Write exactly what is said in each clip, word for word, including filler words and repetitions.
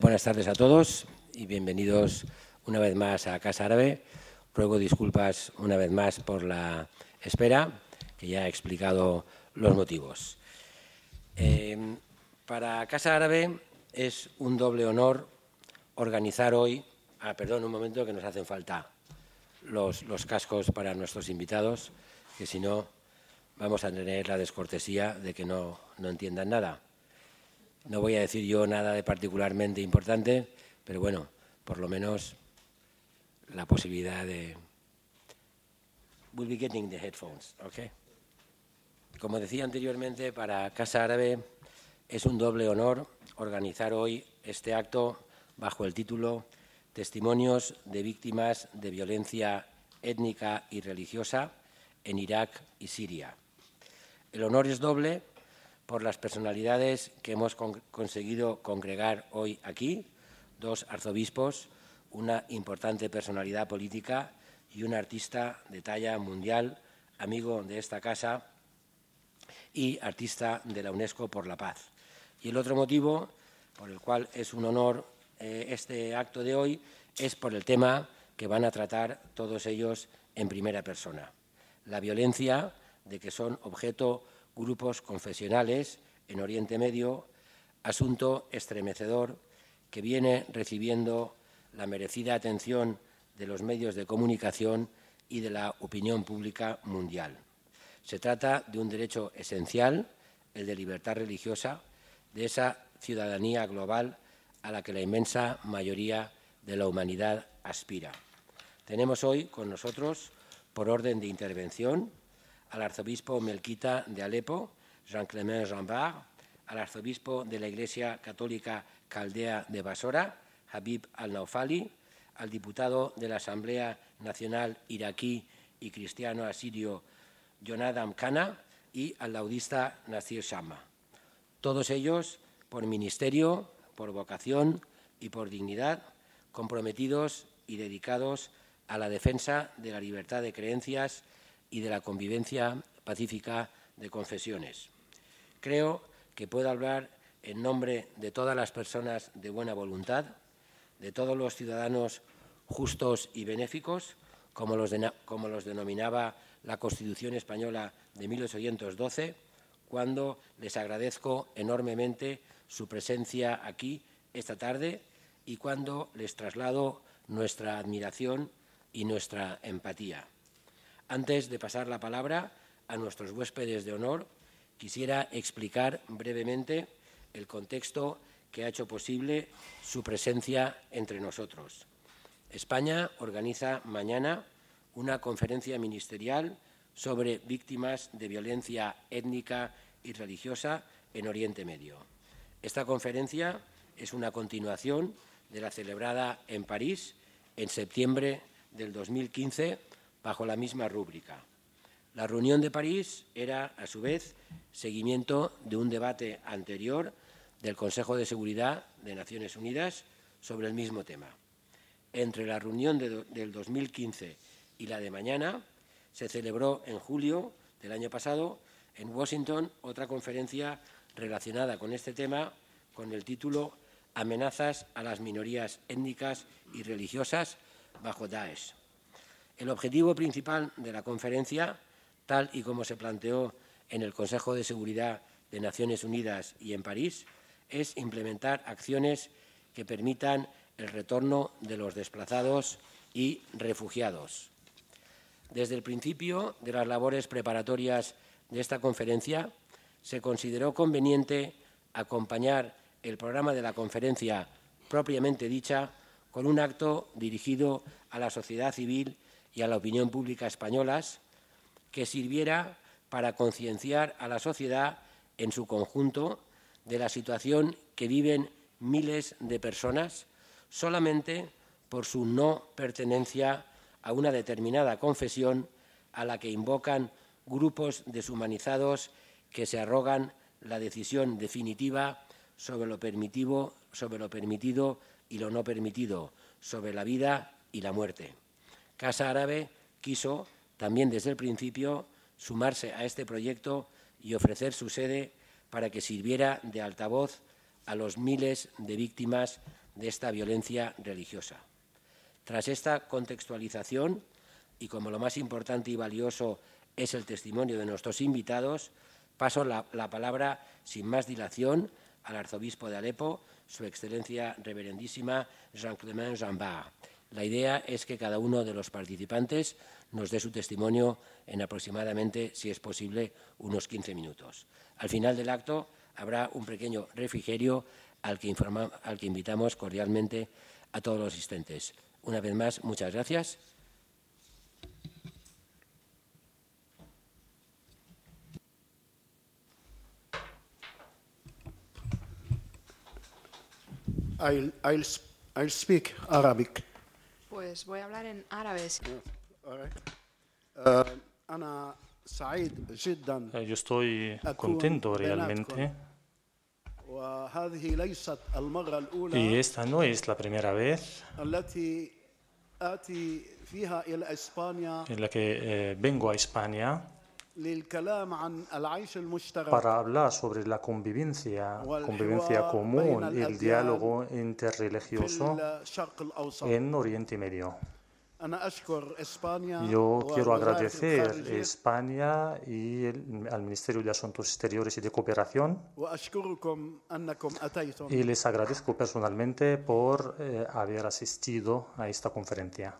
Buenas tardes a todos y bienvenidos una vez más a Casa Árabe. Ruego disculpas una vez más por la espera, que ya he explicado los motivos. Eh, para Casa Árabe es un doble honor organizar hoy... Ah, perdón, un momento, que nos hacen falta los, los cascos para nuestros invitados, que si no vamos a tener la descortesía de que no, no entiendan nada. No voy a decir yo nada de particularmente importante, pero bueno, por lo menos la posibilidad de... We'll be getting the headphones, ¿ok? Como decía anteriormente, para Casa Árabe es un doble honor organizar hoy este acto bajo el título Testimonios de víctimas de violencia étnica y religiosa en Irak y Siria. El honor es doble por las personalidades que hemos con conseguido congregar hoy aquí, dos arzobispos, una importante personalidad política y un artista de talla mundial, amigo de esta casa y artista de la UNESCO por la Paz. Y el otro motivo por el cual es un honor eh, este acto de hoy es por el tema que van a tratar todos ellos en primera persona. La violencia de que son objeto grupos confesionales en Oriente Medio, asunto estremecedor que viene recibiendo la merecida atención de los medios de comunicación y de la opinión pública mundial. Se trata de un derecho esencial, el de libertad religiosa, de esa ciudadanía global a la que la inmensa mayoría de la humanidad aspira. Tenemos hoy con nosotros, por orden de intervención, al arzobispo melquita de Alepo, Jean-Clément Jeanbart, al arzobispo de la Iglesia Católica Caldea de Basora, Habib al-Naufali, al diputado de la Asamblea Nacional Iraquí y cristiano asirio Jonadam Kana y al laudista Nasir Shamma. Todos ellos, por ministerio, por vocación y por dignidad, comprometidos y dedicados a la defensa de la libertad de creencias y de la convivencia pacífica de confesiones. Creo que puedo hablar en nombre de todas las personas de buena voluntad, de todos los ciudadanos justos y benéficos, como los, de, como los denominaba la Constitución española de mil ochocientos doce, cuando les agradezco enormemente su presencia aquí esta tarde y cuando les traslado nuestra admiración y nuestra empatía. Antes de pasar la palabra a nuestros huéspedes de honor, quisiera explicar brevemente el contexto que ha hecho posible su presencia entre nosotros. España organiza mañana una conferencia ministerial sobre víctimas de violencia étnica y religiosa en Oriente Medio. Esta conferencia es una continuación de la celebrada en París en septiembre del dos mil quince bajo la misma rúbrica. La reunión de París era, a su vez, seguimiento de un debate anterior del Consejo de Seguridad de Naciones Unidas sobre el mismo tema. Entre la reunión de, del dos mil quince y la de mañana, se celebró en julio del año pasado en Washington otra conferencia relacionada con este tema con el título Amenazas a las minorías étnicas y religiosas bajo Daesh. El objetivo principal de la conferencia, tal y como se planteó en el Consejo de Seguridad de Naciones Unidas y en París, es implementar acciones que permitan el retorno de los desplazados y refugiados. Desde el principio de las labores preparatorias de esta conferencia, se consideró conveniente acompañar el programa de la conferencia propiamente dicha con un acto dirigido a la sociedad civil y a la opinión pública españolas que sirviera para concienciar a la sociedad en su conjunto de la situación que viven miles de personas solamente por su no pertenencia a una determinada confesión a la que invocan grupos deshumanizados que se arrogan la decisión definitiva sobre lo permitido, sobre lo permitido y lo no permitido, sobre la vida y la muerte. Casa Árabe quiso, también desde el principio, sumarse a este proyecto y ofrecer su sede para que sirviera de altavoz a los miles de víctimas de esta violencia religiosa. Tras esta contextualización, y como lo más importante y valioso es el testimonio de nuestros invitados, paso la, la palabra sin más dilación al arzobispo de Alepo, Su Excelencia Reverendísima Jean-Clément Jean-Bart. La idea es que cada uno de los participantes nos dé su testimonio en aproximadamente, si es posible, unos quince minutos. Al final del acto habrá un pequeño refrigerio al que, informa, al que invitamos cordialmente a todos los asistentes. Una vez más, muchas gracias. I'll, I'll, I'll speak Arabic. Pues voy a hablar en árabe. أنا سعيد جدا Yo estoy contento realmente. وهذه ليست المرة Y الأولى esta no es la primera vez التي آتي فيها إلى إسبانيا en la que eh, vengo a España للكلام عن العيش المشترك para hablar sobre la convivencia, convivencia común y el diálogo في interreligioso الشرق الأوسط. en Oriente Medio. أنا أشكر إسبانيا Yo quiero ووزارة agradecer a الخارجية España y el- al Ministerio de Asuntos Exteriores y de Cooperación وأشكركم أنكم أتيتم. y les agradezco personalmente por eh, haber asistido a esta conferencia.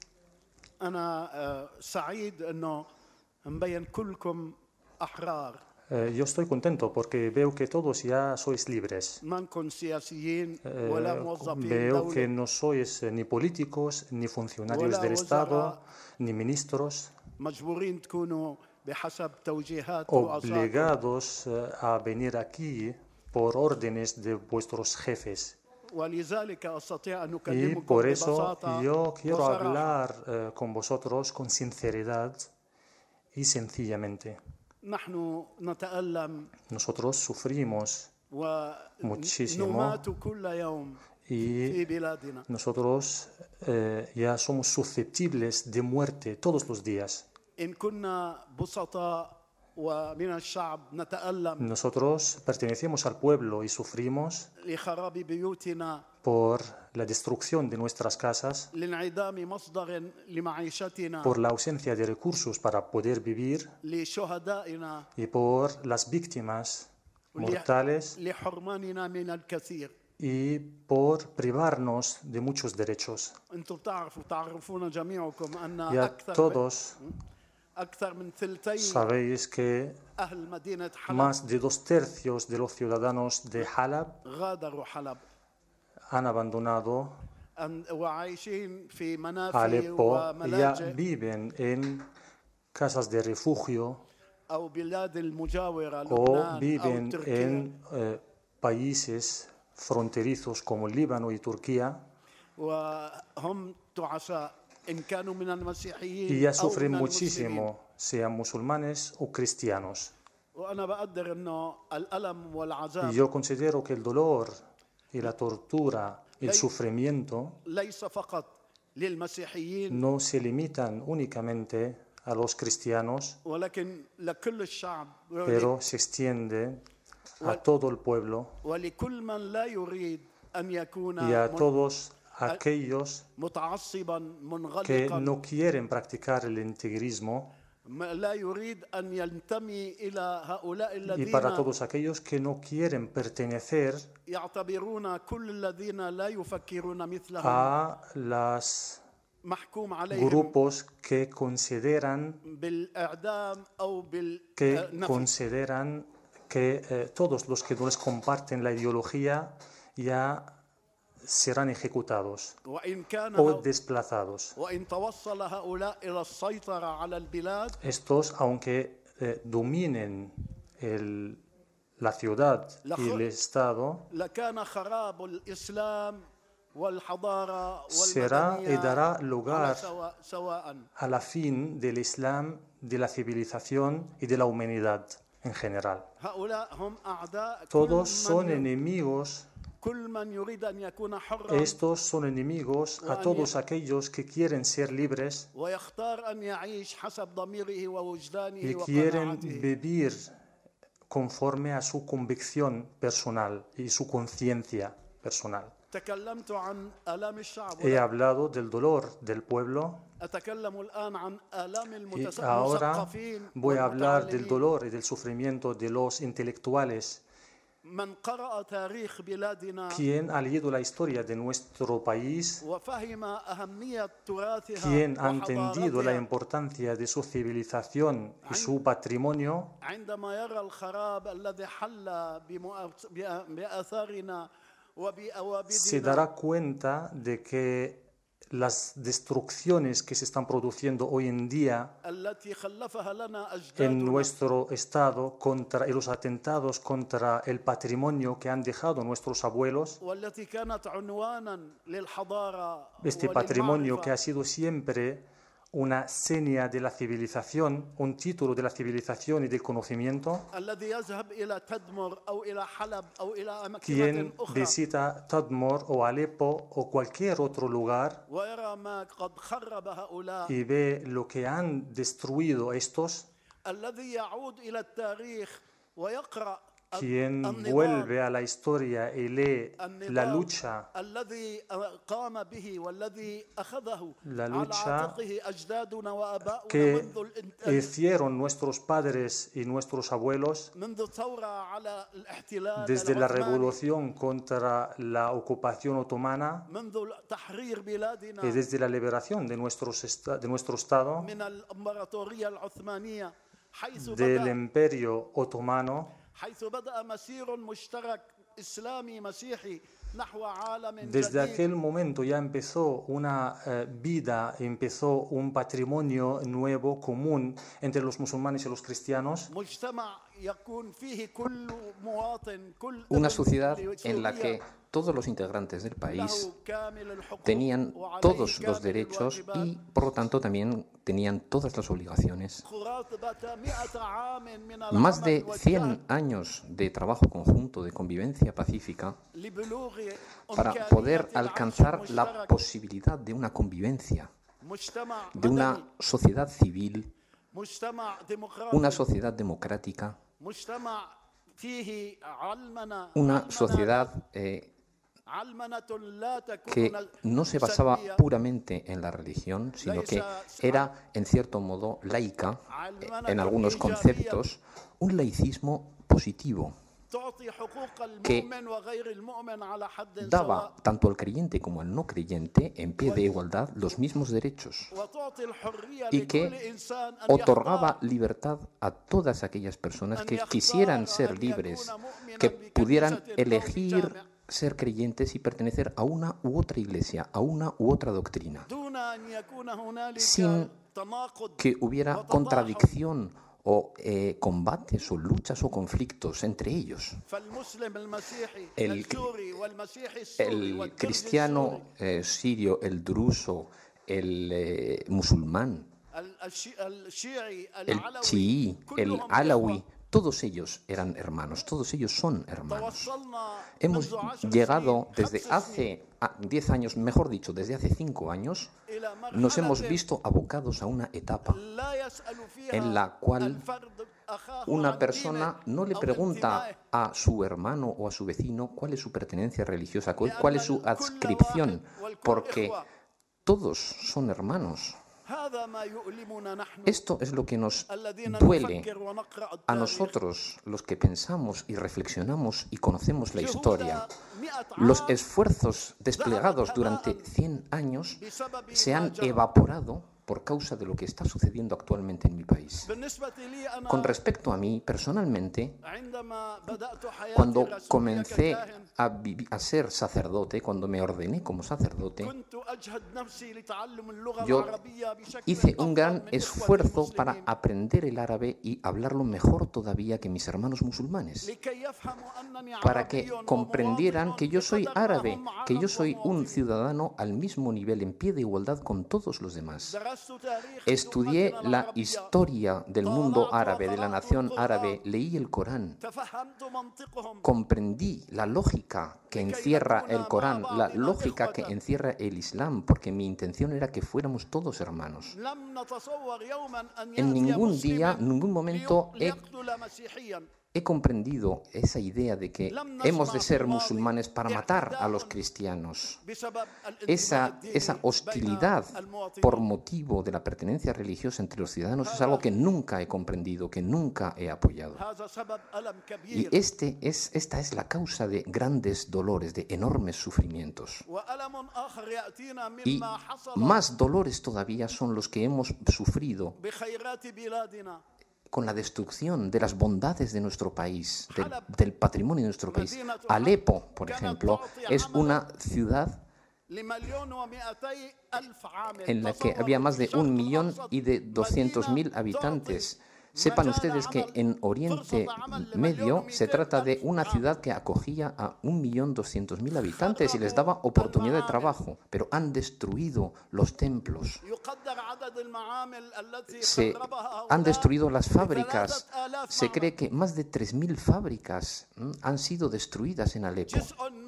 أنا آه، سعيد أنه مبين كلكم أحرار Eh, yo estoy contento porque veo que todos ya sois libres. ما نكون سياسيين Eh, ولا موظفين veo que دولة no sois eh, ni políticos, ni funcionarios ولا del Estado, وزراء ni ministros مجبورين تكونوا بحسب توجيهات رؤسائكم. obligados eh, a venir aquí por órdenes de vuestros jefes. ولذلك أستطيع أن Y أكلمكم por eso ببساطة yo quiero وصراحة. hablar eh, con vosotros con sinceridad y sencillamente. نحن نتألم Nosotros sufrimos muchísimo ونمات كل يوم y في بلادنا. nosotros eh, ya somos susceptibles de muerte todos los días. إن كنا بسطاء ومن الشعب نتألم Nosotros pertenecemos al pueblo y sufrimos لخراب بيوتنا por la destrucción de nuestras casas, لانعدام مصدر لمعيشتنا por la ausencia de recursos para poder vivir لشهدائنا y por las víctimas mortales لحرماننا من الكثير. y por privarnos de muchos derechos. انتم بتعرفوا تعرفون جميعكم ان Ya اكثر todos اكثر من ثلثي sabéis que اهل مدينه حلب más de dos tercios de los ciudadanos de Halab غادروا حلب han abandonado أن- وعايشين في منافي Alepo y ya وملاجئ viven en casas de refugio او بلاد المجاوره o لبنان او viven تركيا en eh, países fronterizos como Líbano y Turquía وهم تعساء ان كانوا من المسيحيين y ya او sufren من المسلمين. muchísimo, sean musulmanes o cristianos. وانا بقدر انه الالم Y والعذاب yo considero que el dolor y la tortura, el sufrimiento, ليس فقط للمسيحيين no se limitan únicamente a los cristianos, ولكن لكل الشعب pero se extiende a todo el pueblo ولكل من لا يريد ان يكون y a من- todos aquellos متعصبا que منغلقا no quieren practicar el integrismo ما- لا يريد ان ينتمي الى هؤلاء y para الذين todos aquellos que no quieren pertenecer يعتبرون كل الذين لا يفكرون مثلهم a los محكوم عليهم grupos que consideran بالاعدام او que بالنفي. consideran que eh, todos los que no les comparten la ideología ya serán ejecutados وان كان o هؤ- desplazados. وان توصل هؤلاء الى السيطره على البلاد Estos, aunque eh, dominen el- la ciudad y el Estado, لكان خراب الاسلام والحضاره será y dará والمدنيه lugar على سواء سواء a la fin del Islam, de la civilización y de la humanidad en general. هؤلاء هم اعداء Todos كل son من, enemigos, كل من يريد ان يكون حرا estos son enemigos a todos aquellos que quieren ser libres ويختار ان يعيش حسب ضميره ووجدانه y quieren وقناعته. vivir conforme a su convicción personal y su conciencia personal. تكلمت عن آلام الشعب He hablado del dolor del pueblo أتكلم الآن عن آلام y المتس- ahora المثقفين voy a hablar del والمتعلمين. dolor y del sufrimiento de los intelectuales. من قرأ تاريخ بلادنا Quien ha leído la historia de nuestro país, وفهم أهمية تراثها quien ha entendido la وحضارتها importancia de su civilización y su patrimonio, عندما يرى الخراب الذي حل بمؤ- بأ- بآثارنا se وبأوابدنا dará cuenta de que las destrucciones que se están produciendo hoy en día التي خلفها لنا en أجدادنا nuestro estado contra y los atentados contra el patrimonio que han dejado nuestros abuelos, والتي كانت عنوانا للحضارة este patrimonio que وللمعرفة ha sido siempre una seña de la civilización, un título de la civilización y del conocimiento. الذي يذهب إلى تدمر أو إلى حلب أو إلى أماكن Quien أخرى visita Tadmor o Alepo o cualquier otro lugar ويرى ما قد خرب هؤلاء y ve lo que han destruido estos, الذي يعود إلى التاريخ ويقرأ quien النضال vuelve a la historia y lee la النضال lucha, الذي قام به والذي أخذه la على lucha عاتقه أجدادنا وآباؤنا que منذ الانت- hicieron nuestros padres y nuestros abuelos منذ الثورة على الاحتلال desde la العثماني revolución contra la ocupación otomana منذ تحرير y بلادنا desde la liberación de, nuestros esta- de nuestro estado, من الإمبراطورية العثمانية حيث del بدأ imperio otomano, حيث بدأ مسير مشترك إسلامي مسيحي نحو عالم desde جديد aquel momento ya empezó una eh, vida, empezó un patrimonio nuevo, común entre los musulmanes y los cristianos, مجتمع يكون فيه كل مواطن كل Una ابن sociedad en la لسوريا que todos los integrantes del país له كامل الحقوق tenían وعليه todos los كامل derechos الواجبات. y, por lo tanto, también tenían todas las obligaciones. قرابة مئة عام من Más العمل de والجهد cien años de trabajo conjunto, de convivencia pacífica, لبلوغ para إمكانية poder العيش alcanzar la المشترك. posibilidad de una convivencia, مجتمع de مدني una sociedad civil, مجتمع una ديمقراطي sociedad democrática, مجتمع فيه علمنة una علمنة- sociedad eh, علمنة لا تكون que no se basaba سلبية. puramente en la religión, sino que era, en cierto modo, laica eh, en algunos conceptos, un laicismo positivo, تعطي حقوق que المؤمن وغير المؤمن على حد سواء daba tanto al creyente como al no creyente en pie de igualdad los mismos derechos وتعطي الحرية y لكل que إنسان أن otorgaba يختار libertad a todas aquellas personas أن que يختار quisieran أن ser يكون libres, مؤمنا que بكنيسة pudieran أو elegir بجامع ser creyentes y pertenecer a una u otra iglesia, a una u otra doctrina, دون أن يكون هنالك sin تناقض que hubiera وتضاحك. contradicción o eh, combates o luchas o conflictos entre ellos. فالمسلم المسيحي El- السوري والمسيحي السوري El والكردي cristiano eh, sirio, el druso, el eh, musulmán, السوري، ال- الشي- الشيعي el العلوي chií, el كلهم alawi, إخوة. todos ellos eran hermanos, todos ellos son hermanos. توصلنا Hemos منذ عشر llegado سنين، desde خمس سنين، hace ah, diez años, mejor dicho, desde hace cinco años, إلى nos hemos مرحلة visto abocados a una etapa لا يسأل فيها en la cual الفرد أخاه una عن persona دينه no le أو pregunta انتمائه. a su hermano o a su vecino cuál es su pertenencia religiosa, cu- cuál es su adscripción, porque todos son hermanos. هذا ما يؤلمنا نحن Esto es lo que nos الذين duele نفكر ونقرأ a التاريخ. nosotros, los que pensamos y reflexionamos y conocemos la جهود historia. مئة Los عام esfuerzos desplegados durante cien años بسبب se ما han جرى. evaporado por causa de lo que está sucediendo actualmente en mi país. بالنسبة لي أنا Con respecto a mí, personalmente, عندما بدأت حياتي cuando الرسولية comencé ككاهن a, vivi- a ser sacerdote, cuando me ordené como sacerdote, كنت أجهد نفسي لتعلم اللغة yo العربية بشكل hice un أفضل gran من إخوتي esfuerzo para المسلمين aprender el árabe y hablarlo mejor todavía que mis hermanos musulmanes, لكي يفهموا أنني para que عربي comprendieran ومواطن que yo soy بقدر ما árabe, هم que yo عرب soy un ومواطن. ciudadano al mismo nivel, en pie de igualdad con todos los demás. درست تاريخ Estudié أمتنا la العربية. historia del mundo árabe, de la nación árabe, leí el Corán, تفهمت منطقهم comprendí la lógica que encierra el Corán, la lógica que encierra el Islam, porque mi intención era que fuéramos todos hermanos. لم نتصور يوما أن En يأتي ningún مسلم día, en ningún momento he ليقتل مسيحيا he comprendido esa idea de que hemos de ser musulmanes para matar a los cristianos. Esa, esa hostilidad por motivo de la pertenencia religiosa entre los ciudadanos es algo que nunca he comprendido, que nunca he apoyado. Y este es, esta es la causa de grandes dolores, de enormes sufrimientos. Y más dolores todavía son los que hemos sufrido con la destrucción de las bondades de nuestro país, del, del patrimonio de nuestro país. Alepo, por ejemplo, es una ciudad en la que había más de un millón y de doscientos mil habitantes. Sepan ustedes que en Oriente Medio se trata de una ciudad que acogía a un millón doscientos mil habitantes y les daba oportunidad de trabajo, pero han destruido los templos, se han destruido las fábricas. Se cree que más de tres mil fábricas ¿m? han sido destruidas en Alepo.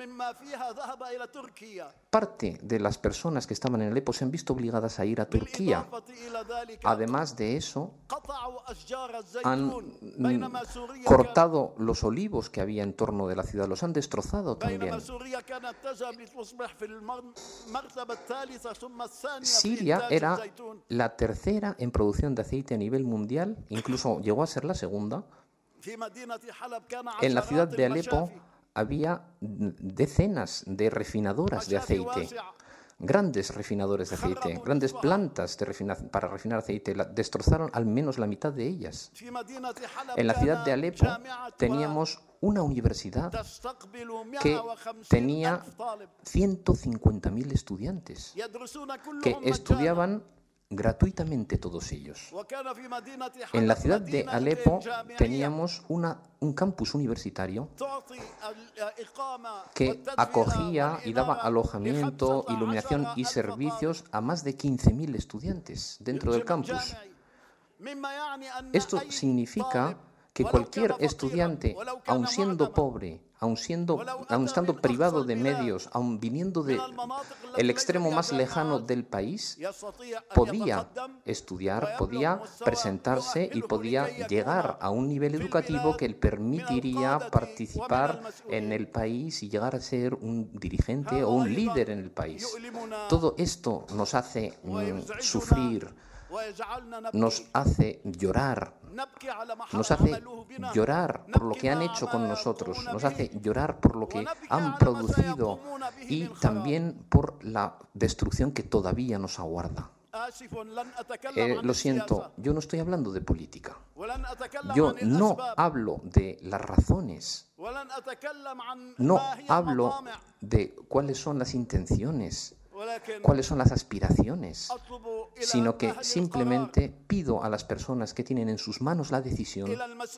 Parte de las personas que estaban en Alepo se han visto obligadas a ir a Turquía. Además de eso, han mm, cortado los olivos que había en torno de la ciudad, los han destrozado también. Siria era la tercera en producción de aceite a nivel mundial, incluso llegó a ser la segunda. En la ciudad de Alepo había decenas de refinadoras de aceite. Grandes refinadores de aceite, grandes plantas de refina para refinar aceite, la, destrozaron al menos la mitad de ellas. En la ciudad de Alepo teníamos una universidad que tenía ciento cincuenta mil estudiantes que estudiaban gratuitamente todos ellos. En la ciudad de Alepo teníamos una, un campus universitario que acogía y daba alojamiento, iluminación y servicios a más de quince mil estudiantes dentro del campus. Esto significa que cualquier estudiante, aun siendo pobre, aun, siendo, aun estando privado de medios, aun viniendo del extremo más lejano del país, podía estudiar, podía presentarse y podía llegar a un nivel educativo que le permitiría participar en el país y llegar a ser un dirigente o un líder en el país. Todo esto nos hace mm, sufrir, nos hace llorar, nos hace llorar por lo que han hecho con nosotros, nos hace llorar por lo que han producido y también por la destrucción que todavía nos aguarda. Eh, lo siento, yo no estoy hablando de política. Yo no hablo de las razones. No hablo de cuáles son las intenciones, cuáles son las aspiraciones, sino que simplemente pido a las personas que tienen en sus manos la decisión,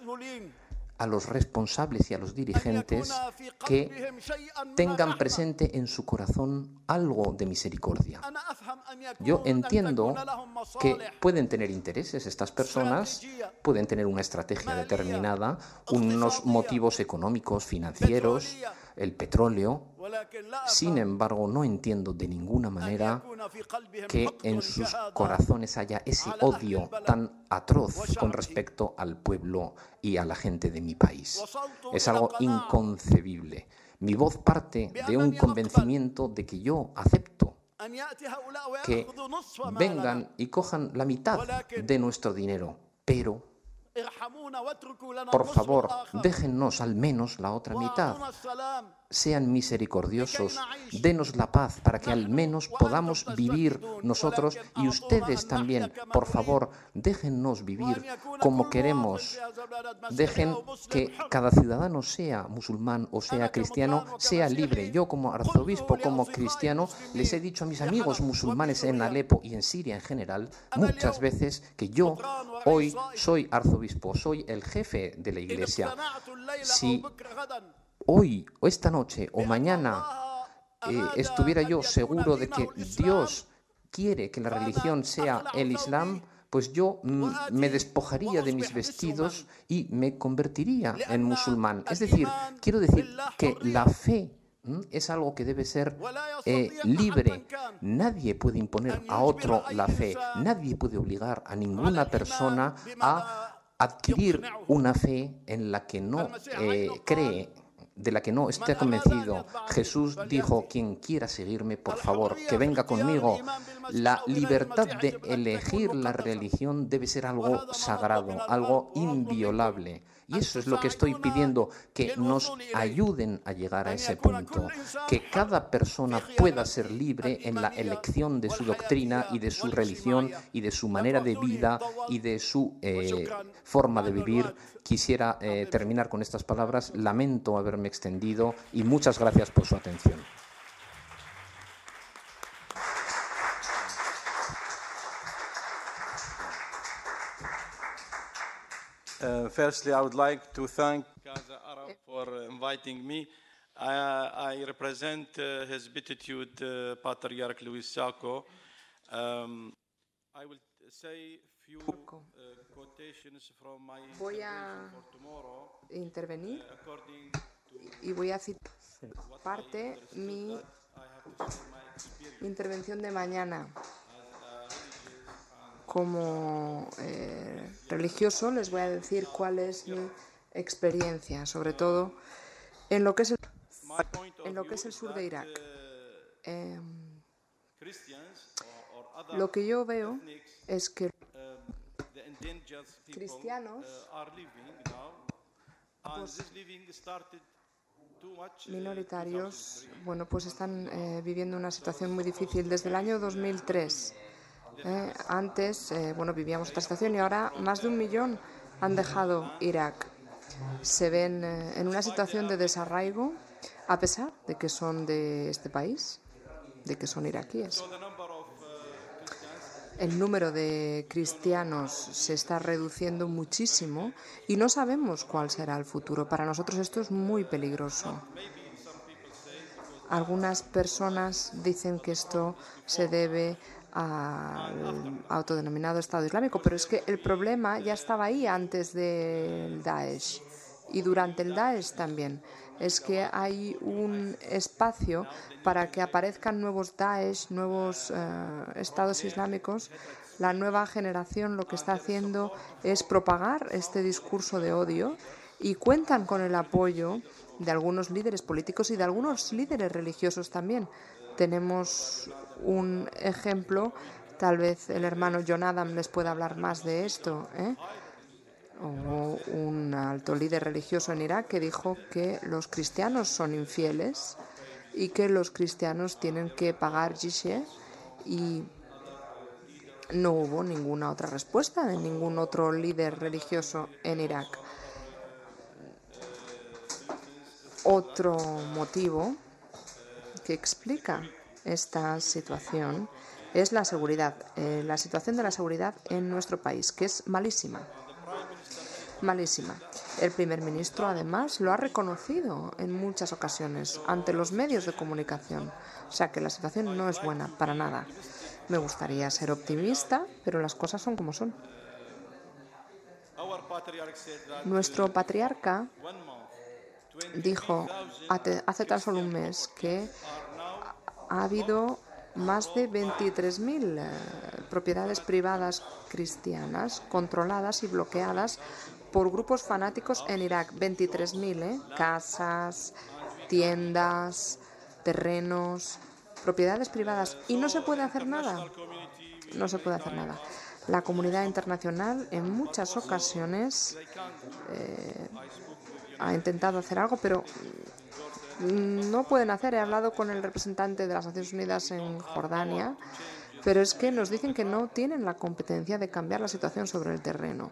a los responsables y a los dirigentes, que tengan presente en su corazón algo de misericordia. Yo entiendo que pueden tener intereses estas personas, pueden tener una estrategia determinada, unos motivos económicos, financieros, el petróleo. Sin embargo, no entiendo de ninguna manera que en sus corazones haya ese odio tan atroz con respecto al pueblo y a la gente de mi país. Es algo inconcebible. Mi voz parte de un convencimiento de que yo acepto que vengan y cojan la mitad de nuestro dinero, pero por favor, déjennos al menos la otra mitad. Sean misericordiosos, denos la paz para que al menos podamos vivir nosotros y ustedes también. Por favor, déjennos vivir como queremos. Dejen que cada ciudadano, sea musulmán o sea cristiano, sea libre. Yo como arzobispo, como cristiano, les he dicho a mis amigos musulmanes en Alepo y en Siria en general muchas veces que yo hoy soy arzobispo, soy el jefe de la iglesia. Si hoy o esta noche o mañana eh, estuviera yo seguro de que Dios quiere que la religión sea el Islam, pues yo mm, me despojaría de mis vestidos y me convertiría en musulmán. Es decir, quiero decir que la fe mm, es algo que debe ser eh, libre. Nadie puede imponer a otro la fe. Nadie puede obligar a ninguna persona a adquirir una fe en la que no eh, cree, de la que no esté convencido. Jesús dijo: quien quiera seguirme, por favor, que venga conmigo. La libertad de elegir la religión debe ser algo sagrado, algo inviolable. Y eso es lo que estoy pidiendo, que nos ayuden a llegar a ese punto, que cada persona pueda ser libre en la elección de su doctrina y de su religión y de su manera de vida y de su eh, forma de vivir. Quisiera eh, terminar con estas palabras. Lamento haberme extendido y muchas gracias por su atención. Uh, firstly, I would like to thank Casa Arab for inviting me. I, I represent uh, His Beatitude uh, Patriarch Luis Sacco. Um, I will say few uh, quotations from my Voy a for tomorrow. intervenir Uh, according y voy a citar parte mi intervención de mañana. Como eh, religioso les voy a decir cuál es mi experiencia, sobre todo en lo que es el, en lo que es el sur de Irak. Eh, lo que yo veo es que cristianos pues, minoritarios, bueno, pues están eh, viviendo una situación muy difícil desde el año dos mil tres. Eh, antes, eh, bueno, vivíamos otra situación y ahora más de un millón han dejado Irak. Se ven eh, en una situación de desarraigo, a pesar de que son de este país, de que son iraquíes. El número de cristianos se está reduciendo muchísimo y no sabemos cuál será el futuro. Para nosotros esto es muy peligroso. Algunas personas dicen que esto se debe al autodenominado Estado Islámico, pero es que el problema ya estaba ahí antes del Daesh y durante el Daesh también. Es que hay un espacio para que aparezcan nuevos Daesh, nuevos eh, estados islámicos. La nueva generación lo que está haciendo es propagar este discurso de odio y cuentan con el apoyo de algunos líderes políticos y de algunos líderes religiosos también. Tenemos un ejemplo, tal vez el hermano John Adam les pueda hablar más de esto, ¿eh? O un alto líder religioso en Irak que dijo que los cristianos son infieles y que los cristianos tienen que pagar jizya, y no hubo ninguna otra respuesta de ningún otro líder religioso en Irak. Otro motivo que explica esta situación es la seguridad, eh, la situación de la seguridad en nuestro país, que es malísima. Malísima. El primer ministro, además, lo ha reconocido en muchas ocasiones ante los medios de comunicación. O sea que la situación no es buena para nada. Me gustaría ser optimista, pero las cosas son como son. Nuestro patriarca dijo hace tan solo un mes que ha habido más de veintitrés mil eh, propiedades privadas cristianas controladas y bloqueadas por grupos fanáticos en Irak. veintitrés mil, ¿eh? Casas, tiendas, terrenos, propiedades privadas. Y no se puede hacer nada. No se puede hacer nada. La comunidad internacional en muchas ocasiones eh, ha intentado hacer algo, pero no pueden hacer. He hablado con el representante de las Naciones Unidas en Jordania, pero es que nos dicen que no tienen la competencia de cambiar la situación sobre el terreno.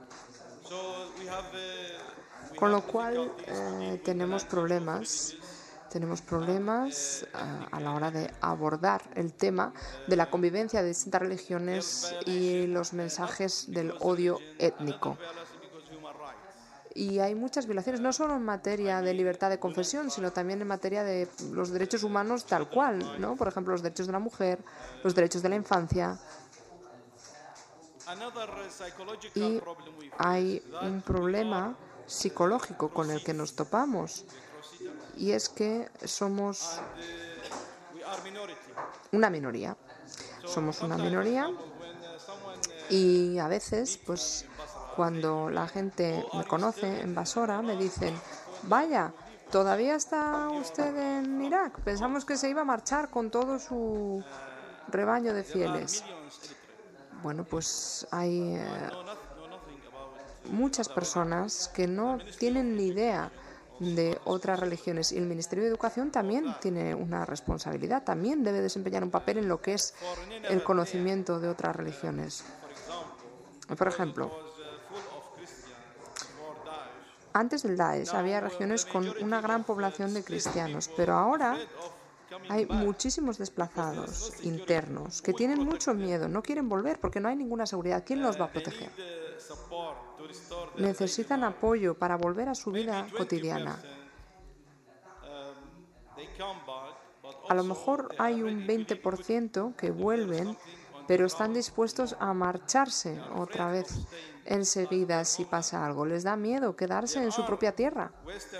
Con lo cual eh, tenemos problemas, tenemos problemas uh, a la hora de abordar el tema de la convivencia de distintas religiones y los mensajes del odio étnico. Y hay muchas violaciones, no solo en materia de libertad de confesión, sino también en materia de los derechos humanos tal cual, ¿no? Por ejemplo, los derechos de la mujer, los derechos de la infancia. Y hay un problema psicológico con el que nos topamos, y es que somos una minoría. Somos una minoría y a veces, pues, Cuando la gente me conoce en Basora, me dicen, vaya, ¿todavía está usted en Irak? Pensamos que se iba a marchar con todo su rebaño de fieles. Bueno, pues hay eh, muchas personas que no tienen ni idea de otras religiones, y el Ministerio de Educación también tiene una responsabilidad, también debe desempeñar un papel en lo que es el conocimiento de otras religiones. Por ejemplo, antes del Daesh había regiones con una gran población de cristianos, pero ahora hay muchísimos desplazados internos que tienen mucho miedo, no quieren volver porque no hay ninguna seguridad. ¿Quién los va a proteger? Necesitan apoyo para volver a su vida cotidiana. A lo mejor hay un veinte por ciento que vuelven, pero están dispuestos a marcharse otra vez enseguida si pasa algo. Les da miedo quedarse en su propia tierra.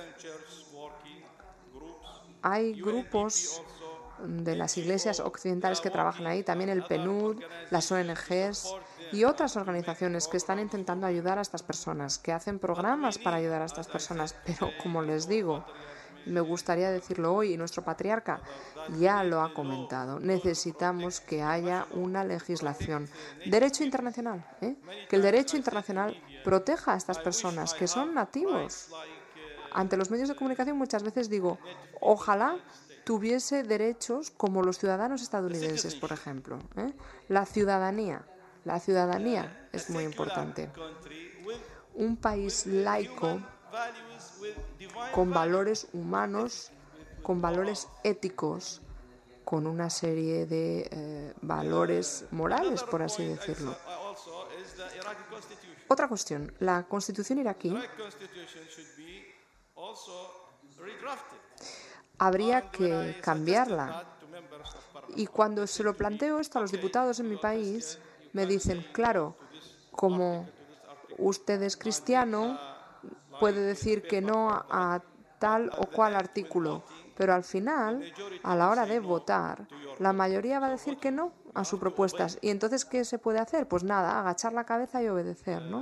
Hay grupos de las iglesias occidentales que trabajan ahí, también el P N U D, las O N Ges y otras organizaciones que están intentando ayudar a estas personas, que hacen programas para ayudar a estas personas. Pero, como les digo, me gustaría decirlo hoy, y nuestro patriarca ya lo ha comentado, necesitamos que haya una legislación, derecho internacional, ¿eh? que el derecho internacional proteja a estas personas que son nativos. Ante los medios de comunicación muchas veces digo, ojalá tuviese derechos como los ciudadanos estadounidenses, por ejemplo. ¿eh? La ciudadanía, la ciudadanía es muy importante. Un país laico, con valores humanos, con valores éticos, con una serie de eh, valores morales, por así decirlo. Otra cuestión, la Constitución iraquí habría que cambiarla. Y cuando se lo planteo esto a los diputados en mi país, me dicen, claro, como usted es cristiano, puede decir que no a tal o cual artículo, pero al final, a la hora de votar, la mayoría va a decir que no a sus propuestas. ¿Y entonces qué se puede hacer? Pues nada, agachar la cabeza y obedecer, ¿no?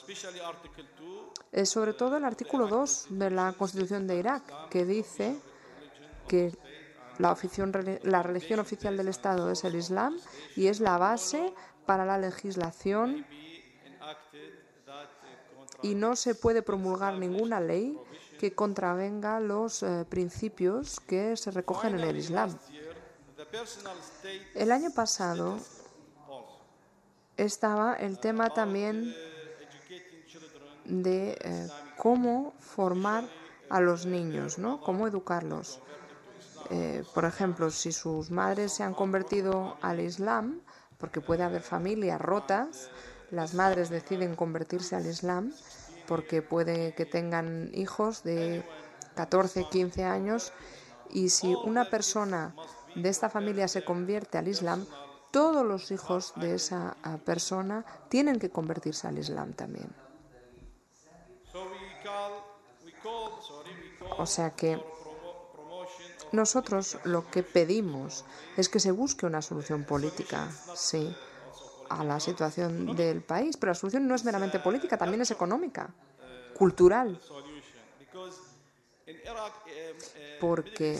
Es sobre todo el artículo dos de la Constitución de Irak, que dice que la, ofición, la religión oficial del Estado es el Islam y es la base para la legislación, y no se puede promulgar ninguna ley que contravenga los eh, principios que se recogen en el Islam. El año pasado estaba el tema también de eh, cómo formar a los niños, ¿no? Cómo educarlos. Eh, por ejemplo, si sus madres se han convertido al Islam, porque puede haber familias rotas, las madres deciden convertirse al Islam porque puede que tengan hijos de catorce, quince años, y si una persona de esta familia se convierte al Islam, todos los hijos de esa persona tienen que convertirse al Islam también. O sea que nosotros lo que pedimos es que se busque una solución política, sí, a la situación del país, pero la solución no es meramente política, también es económica, cultural, porque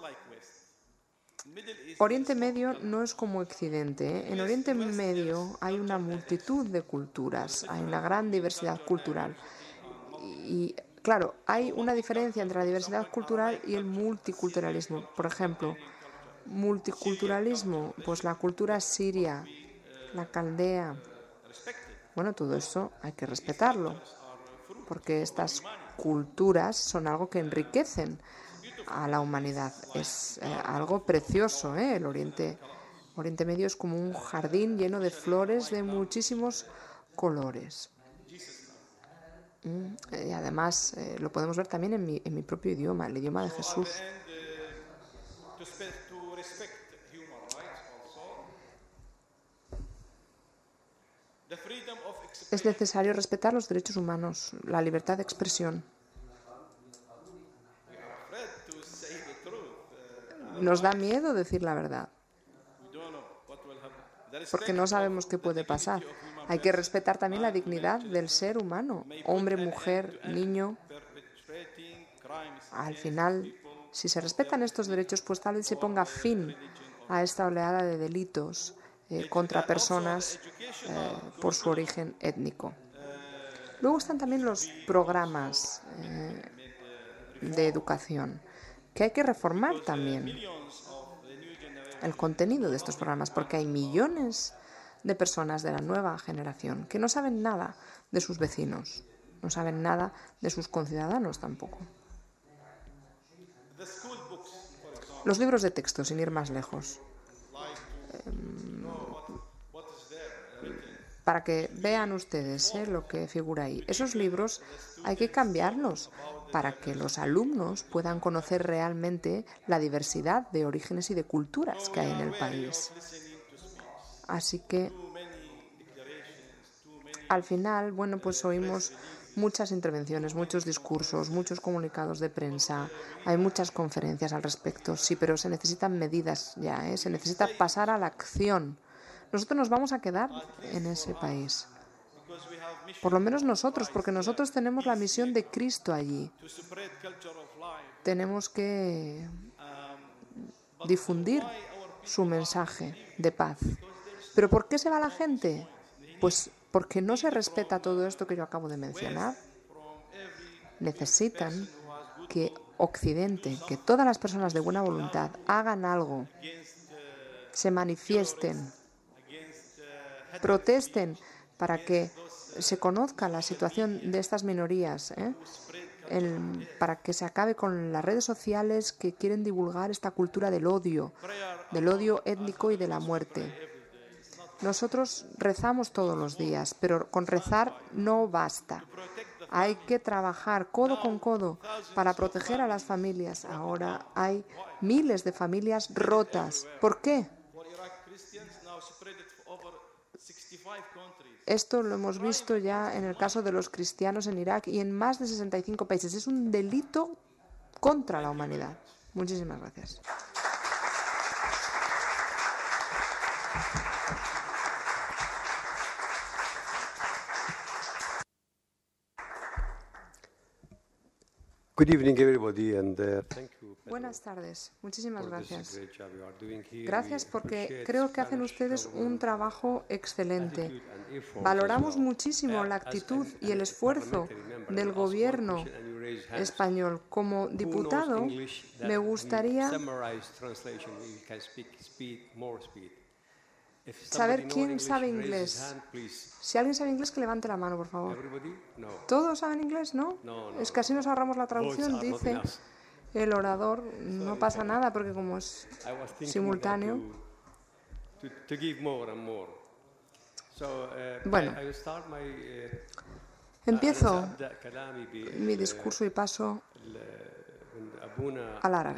Oriente Medio no es como Occidente, ¿eh? En Oriente Medio hay una multitud de culturas, hay una gran diversidad cultural y, claro, hay una diferencia entre la diversidad cultural y el multiculturalismo. Por ejemplo, multiculturalismo, pues la cultura siria, la caldea. Bueno, todo eso hay que respetarlo, porque estas culturas son algo que enriquecen a la humanidad. Es eh, algo precioso, ¿eh? El Oriente, Oriente Medio es como un jardín lleno de flores de muchísimos colores. Mm, y además eh, lo podemos ver también en mi, en mi propio idioma, el idioma de Jesús. Es necesario respetar los derechos humanos, la libertad de expresión. Nos da miedo decir la verdad. porque no sabemos qué puede pasar. Hay que respetar también la dignidad del ser humano, hombre, mujer, niño. Al final, si se respetan estos derechos, pues tal vez se ponga fin a esta oleada de delitos eh, contra personas eh, por su origen étnico. Luego están también los programas eh, de educación, que hay que reformar también el contenido de estos programas, porque hay millones de personas de la nueva generación que no saben nada de sus vecinos, no saben nada de sus conciudadanos tampoco. Los libros de texto, sin ir más lejos, para que vean ustedes eh, lo que figura ahí. Esos libros hay que cambiarlos para que los alumnos puedan conocer realmente la diversidad de orígenes y de culturas que hay en el país. Así que, al final, bueno, pues oímos muchas intervenciones, muchos discursos, muchos comunicados de prensa, hay muchas conferencias al respecto, sí, pero se necesitan medidas ya, ¿eh? Se necesita pasar a la acción. Nosotros nos vamos a quedar en ese país, por lo menos nosotros, porque nosotros tenemos la misión de Cristo allí. Tenemos que difundir su mensaje de paz. ¿Pero por qué se va la gente? Pues porque no se respeta todo esto que yo acabo de mencionar. Necesitan que Occidente, que todas las personas de buena voluntad hagan algo, se manifiesten, protesten para que se conozca la situación de estas minorías, ¿eh? El, para que se acabe con las redes sociales que quieren divulgar esta cultura del odio, del odio étnico y de la muerte. Nosotros rezamos todos los días, pero con rezar no basta. Hay que trabajar codo con codo para proteger a las familias. Ahora hay miles de familias rotas. ¿Por qué? Esto lo hemos visto ya en el caso de los cristianos en Irak y en más de sesenta y cinco países. Es un delito contra la humanidad. Muchísimas gracias. Good evening, everybody, and uh, thank you. Buenas tardes. Muchísimas gracias. Gracias porque creo que hacen ustedes un trabajo excelente. Valoramos muchísimo la actitud y el esfuerzo del gobierno español. Como diputado, me gustaría saber quién sabe inglés. Si alguien sabe inglés, que levante la mano, por favor. ¿Todos saben inglés? ¿No? Es que así nos ahorramos la traducción, dice el orador. No pasa nada, porque como es simultáneo. Bueno, empiezo mi discurso y paso al árabe.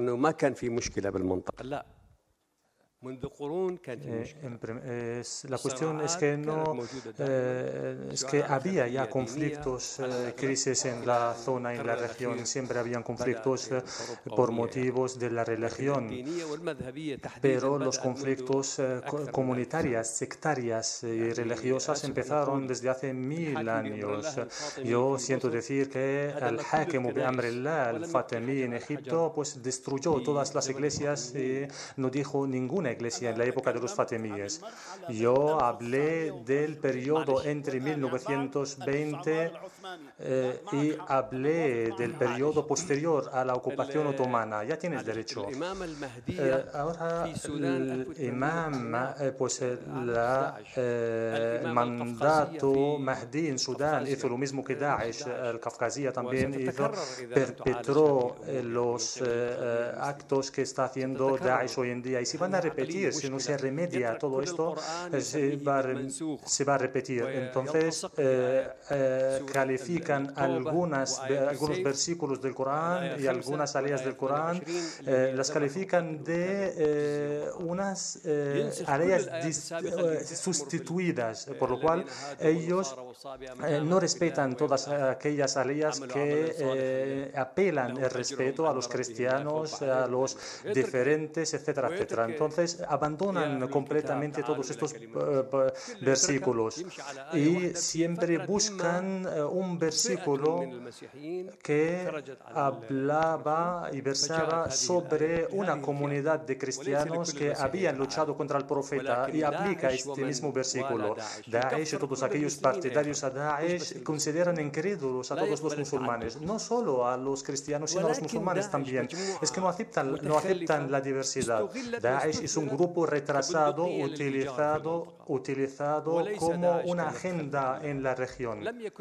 Eh, en, es, la cuestión es que no eh, es que había ya conflictos, eh, crisis en la zona, en la región, siempre habían conflictos eh, por motivos de la religión, pero los conflictos eh, comunitarios, sectarias y religiosas empezaron desde hace mil años. Yo siento decir que el Hakem bi Amrillah, el Fatimí en Egipto, pues destruyó todas las iglesias y no dijo ninguna iglesia en la época de los fatimíes. Yo hablé del periodo entre mil novecientos veinte eh, y hablé del periodo posterior a la ocupación otomana. Ya tienes derecho. Eh, ahora el imam, eh, pues la, eh, el mandato Mahdi en Sudán hizo lo mismo que Daesh. El Kafkazía también hizo, perpetró eh, los eh, actos que está haciendo Daesh hoy en día. Y si van a repetir, si no se remedia todo esto, se va, se va a repetir. Entonces, eh, eh, califican algunas, algunos versículos del Corán y algunas áreas del Corán, eh, las califican de eh, unas eh, áreas dis, eh, sustituidas, por lo cual ellos eh, no respetan todas aquellas áreas que eh, apelan el respeto a los cristianos, a los diferentes, etcétera, etcétera. Entonces, entonces abandonan completamente todos estos uh, versículos y siempre buscan uh, un versículo que hablaba y versaba sobre una comunidad de cristianos que habían luchado contra el profeta y aplica este mismo versículo. Daesh y todos aquellos partidarios a Daesh consideran incrédulos a todos los musulmanes, no solo a los cristianos, sino a los musulmanes también. Es que no aceptan, no aceptan la diversidad. Daesh es un grupo retrasado, utilizado, utilizado como una agenda en la región.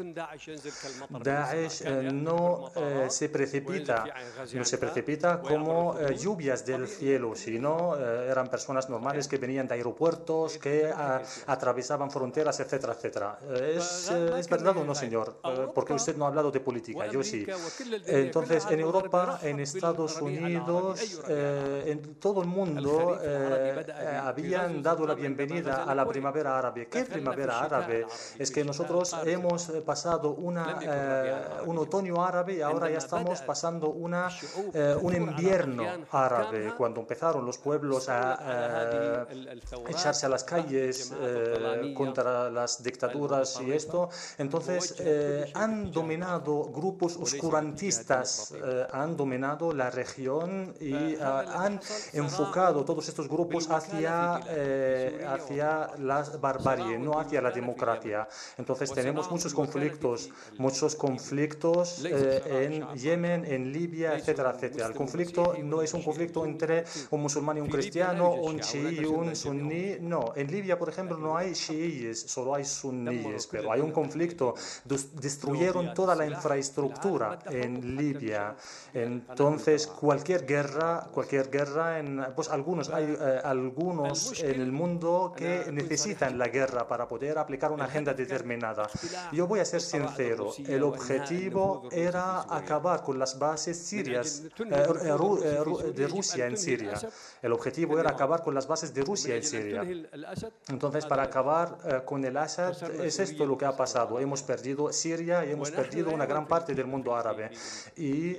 Daesh eh, no eh, se precipita, no se precipita como eh, lluvias del cielo, sino eh, eran personas normales que venían de aeropuertos, que a, atravesaban fronteras, etcétera, etcétera. ¿Es, eh, ¿Es verdad o no, señor? Eh, porque usted no ha hablado de política, yo sí. Entonces, en Europa, en Estados Unidos, eh, en todo el mundo eh, eh, habían dado la bienvenida a la primavera árabe. ¿Qué primavera árabe? Es que nosotros hemos pasado una, eh, un otoño árabe y ahora ya estamos pasando una, eh, un invierno árabe. Cuando empezaron los pueblos a eh, echarse a las calles eh, contra las dictaduras y esto, entonces eh, han dominado grupos oscurantistas, eh, han dominado la región y eh, han enfocado todos estos grupos hacia, eh, hacia la barbarie, no hacia la democracia. Entonces tenemos muchos conflictos, muchos conflictos eh, en Yemen, en Libia, etcétera, etcétera. El conflicto no es un conflicto entre un musulmán y un cristiano, un chií y un suní, no. En Libia, por ejemplo, no hay chiíes, solo hay suníes, pero hay un conflicto. Destruyeron toda la infraestructura en Libia. Entonces, cualquier guerra, cualquier guerra, en, pues algunos, hay eh, algunos en el mundo que necesitan la guerra para poder aplicar una agenda determinada. Yo voy a ser sincero, el objetivo era acabar con las bases sirias eh, eh, de Rusia en Siria. El objetivo era acabar con las bases de Rusia en Siria. Entonces, para acabar eh, con el Assad, es esto lo que ha pasado. Hemos perdido Siria y hemos perdido una gran parte del mundo árabe. Y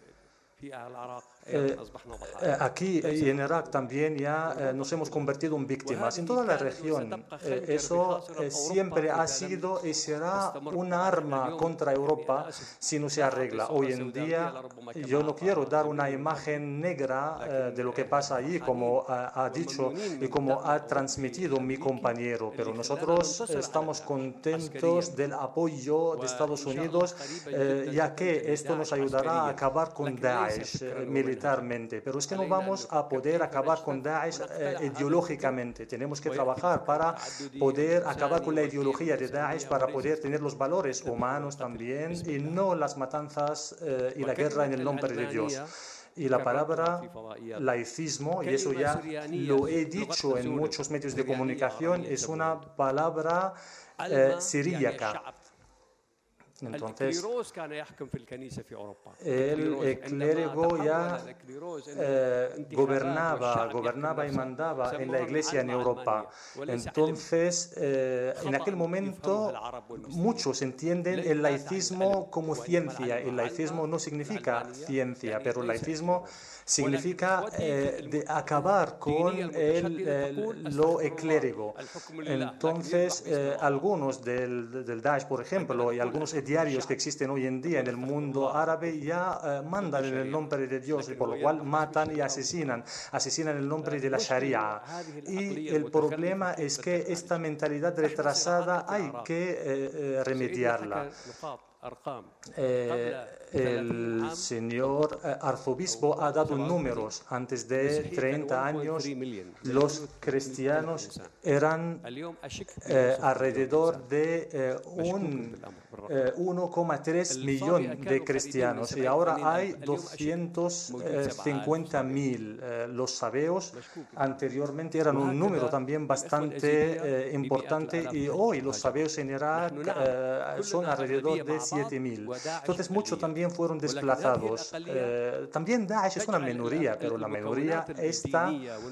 Eh, eh, aquí y en Irak también ya eh, nos hemos convertido en víctimas. En toda la región eh, eso eh, siempre ha sido y será un arma contra Europa si no se arregla. Hoy en día yo no quiero dar una imagen negra eh, de lo que pasa allí, como ha, ha dicho y como ha transmitido mi compañero, pero nosotros estamos contentos del apoyo de Estados Unidos, eh, ya que esto nos ayudará a acabar con Daesh eh, militarmente, pero es que no vamos a poder acabar con Daesh eh, ideológicamente. Tenemos que trabajar para poder acabar con la ideología de Daesh, para poder tener los valores humanos también y no las matanzas eh, y la guerra en el nombre de Dios. Y la palabra laicismo, y eso ya lo he dicho en muchos medios de comunicación, es una palabra eh, siríaca. Entonces, el clérigo ya eh, gobernaba, gobernaba y mandaba en la iglesia en Europa. Entonces, eh, en aquel momento, muchos entienden el laicismo como ciencia. El laicismo no significa ciencia, pero el laicismo significa eh, de acabar con el, el, lo clérigo. Entonces, eh, algunos del, del Daesh, por ejemplo, y algunos diarios que existen hoy en día en el mundo árabe ya eh, mandan en el nombre de Dios, y por lo cual matan y asesinan, asesinan en el nombre de la Sharia. Y el problema es que esta mentalidad retrasada hay que eh, eh, remediarla. Eh, el señor eh, arzobispo ha dado números. Antes de treinta años los cristianos eran eh, alrededor de eh, un eh, uno coma tres millón de cristianos y ahora hay doscientos cincuenta mil. Eh, los sabeos anteriormente eran un número también bastante eh, importante y hoy los sabeos en Irak eh, son alrededor de siete mil. Entonces muchos también fueron desplazados. Eh, también Daesh es una minoría, pero la minoría está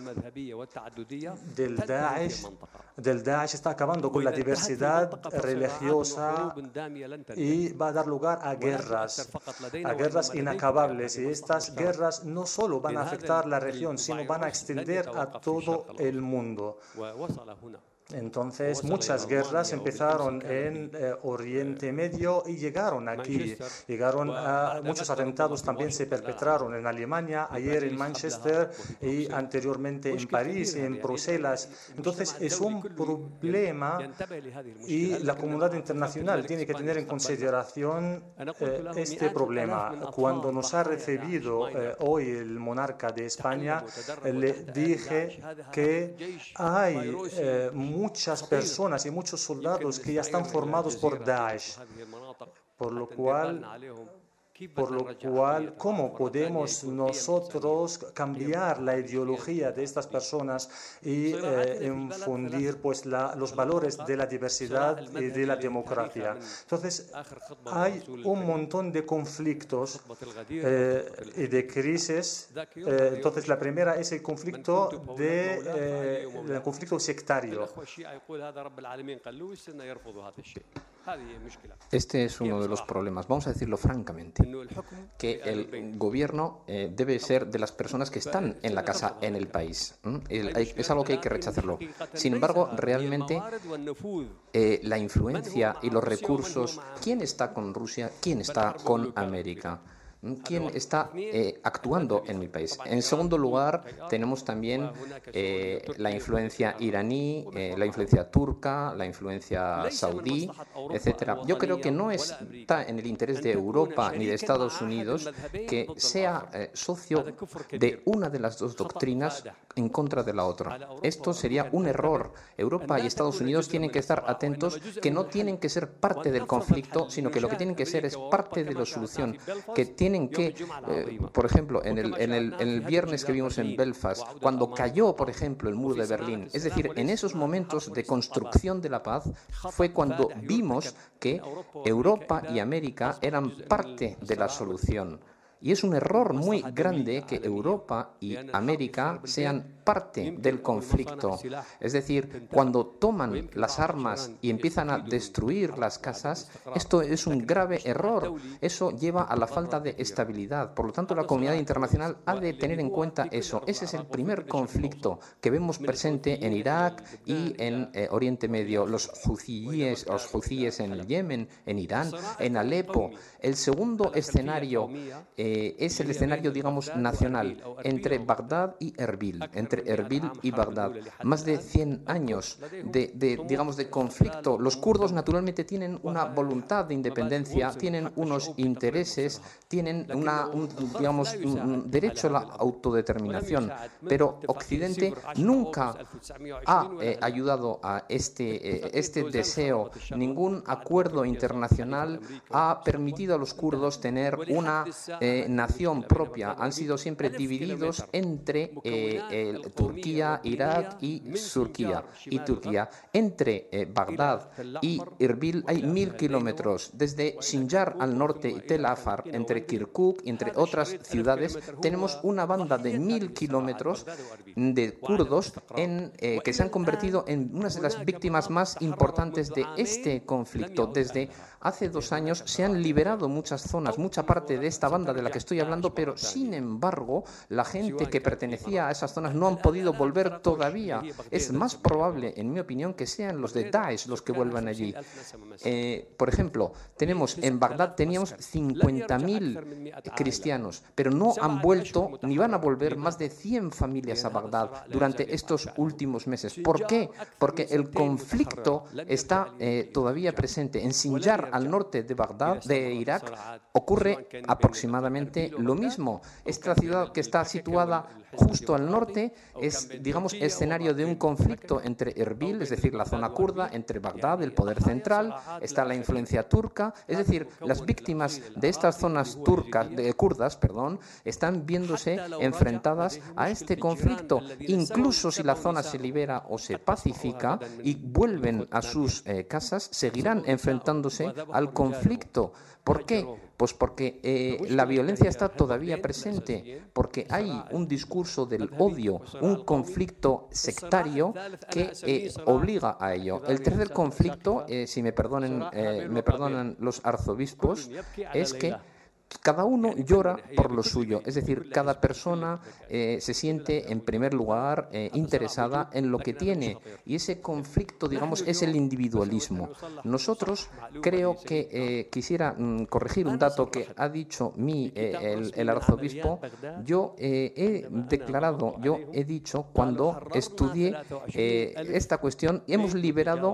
del Daesh, del Daesh está acabando con la diversidad religiosa y va a dar lugar a guerras, a guerras inacabables. Y estas guerras no solo van a afectar la región, sino van a extender a todo el mundo. Entonces, muchas guerras empezaron en eh, Oriente Medio y llegaron aquí. Llegaron a muchos atentados también se perpetraron en Alemania, ayer en Manchester y anteriormente en París y en Bruselas. Entonces, es un problema y la comunidad internacional tiene que tener en consideración eh, este problema. Cuando nos ha recibido eh, hoy el monarca de España, eh, le dije que hay eh, muchas personas y muchos soldados que ya están formados por Daesh, por lo cual, por lo cual, ¿cómo podemos nosotros cambiar la ideología de estas personas y eh, infundir pues, la, los valores de la diversidad y de la democracia? Entonces, hay un montón de conflictos eh, y de crisis. Eh, entonces, la primera es el conflicto, de, eh, el conflicto sectario. Este es uno de los problemas, vamos a decirlo francamente, que el gobierno eh, debe ser de las personas que están en la casa, en el país. ¿Mm? El, hay, es algo que hay que rechazarlo. Sin embargo, realmente eh, la influencia y los recursos, ¿quién está con Rusia? ¿Quién está con América? ¿Quién está eh, actuando en mi país? En segundo lugar, tenemos también eh, la influencia iraní, eh, la influencia turca, la influencia saudí, etcétera. Yo creo que no está en el interés de Europa ni de Estados Unidos que sea eh, socio de una de las dos doctrinas en contra de la otra. Esto sería un error. Europa y Estados Unidos tienen que estar atentos, que no tienen que ser parte del conflicto, sino que lo que tienen que ser es parte de la solución, que tienen Tienen que, eh, por ejemplo, en el, en, el, en el viernes que vimos en Belfast, cuando cayó, por ejemplo, el muro de Berlín, es decir, en esos momentos de construcción de la paz, fue cuando vimos que Europa y América eran parte de la solución. Y es un error muy grande que Europa y América sean parte del conflicto. Es decir, cuando toman las armas y empiezan a destruir las casas, esto es un grave error. Eso lleva a la falta de estabilidad. Por lo tanto, la comunidad internacional ha de tener en cuenta eso. Ese es el primer conflicto que vemos presente en Irak y en eh, Oriente Medio. Los huthíes, los huthíes en el Yemen, en Irán, en Alepo. El segundo escenario eh, Eh, es el escenario, digamos, nacional, entre Bagdad y Erbil, entre Erbil y Bagdad. Más de cien años de, de, digamos, de conflicto. Los kurdos, naturalmente, tienen una voluntad de independencia, tienen unos intereses, tienen una, un, digamos, un derecho a la autodeterminación, pero Occidente nunca ha eh, ayudado a este, eh, este deseo. Ningún acuerdo internacional ha permitido a los kurdos tener una eh, nación propia. Han sido siempre divididos entre eh, el, Turquía, Irak y Turquía. Y Turquía. Entre eh, Bagdad y Erbil hay mil kilómetros. Desde Sinjar al norte y Tel Afar, entre Kirkuk y entre otras ciudades, tenemos una banda de mil kilómetros de kurdos en, eh, que se han convertido en unas de las víctimas más importantes de este conflicto. Desde hace dos años se han liberado muchas zonas, mucha parte de esta banda de la que estoy hablando, pero sin embargo la gente que pertenecía a esas zonas no han podido volver todavía. Es más probable, en mi opinión, que sean los de Daesh los que vuelvan allí. Eh, por ejemplo, tenemos en Bagdad teníamos cincuenta mil cristianos, pero no han vuelto ni van a volver más de cien familias a Bagdad durante estos últimos meses. ¿Por qué? Porque el conflicto está eh, todavía presente. En Sinjar, al norte de Bagdad, de Irak, ocurre aproximadamente lo mismo. Esta ciudad que está situada justo al norte es, digamos, escenario de un conflicto entre Erbil, es decir, la zona kurda, entre Bagdad, el poder central, está la influencia turca, es decir, las víctimas de estas zonas turcas, de, kurdas, perdón, están viéndose enfrentadas a este conflicto. Incluso si la zona se libera o se pacifica y vuelven a sus eh, casas, seguirán enfrentándose al conflicto. ¿Por qué? Pues porque eh, la violencia está todavía presente, porque hay un discurso del odio, un conflicto sectario que eh, obliga a ello. El tercer conflicto, eh, si me perdonen, eh, me perdonan los arzobispos, es que cada uno llora por lo suyo, es decir, cada persona eh, se siente en primer lugar eh, interesada en lo que tiene, y ese conflicto, digamos, es el individualismo. Nosotros, creo que eh, quisiera mm, corregir un dato que ha dicho mi, eh, el, el arzobispo. Yo eh, he declarado, yo he dicho cuando estudié eh, esta cuestión, hemos liberado